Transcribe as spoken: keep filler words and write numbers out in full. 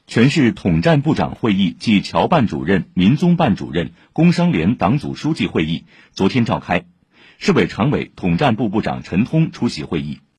全市统战部长会议暨侨办主任、民综办主任、工商联党组书记会议昨天召开，市委常委、统战部部长陈通出席会议。